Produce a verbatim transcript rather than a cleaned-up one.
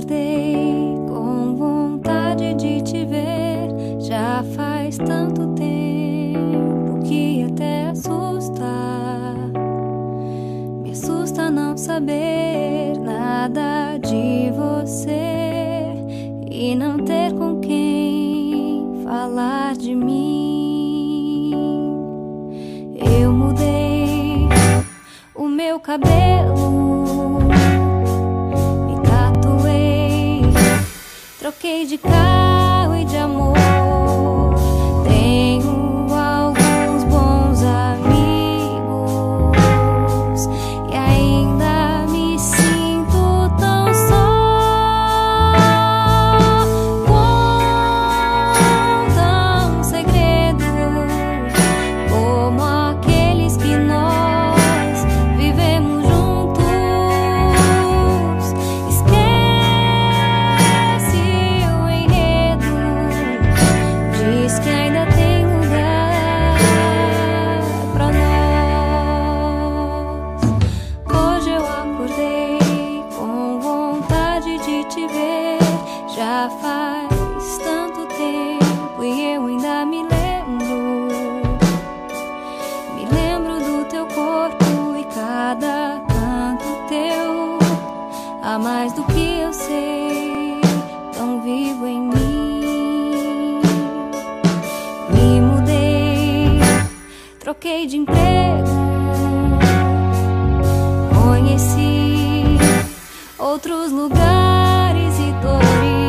acordei com vontade de te ver. Já faz tanto tempo que até assusta. Me assusta não saber nada de você e não ter com quem falar de mim. Eu mudei o meu cabelo, me tatuei, troquei de carro e de amor. Tenho alguns bons amigos e ainda me sinto tão só. Conta um segredo como aqueles que nós vivemos juntos. Esquece o enredo, diz que ainda tem lugar pra nós. Hoje eu acordei com vontade de te ver. Já faz tanto tempo e eu ainda me lembro. Me lembro do teu corpo e cada canto teu. Há mais do que eu sei, tão vivo em mim. Me mudei, troquei de emprego, conheci outros lugares e dores.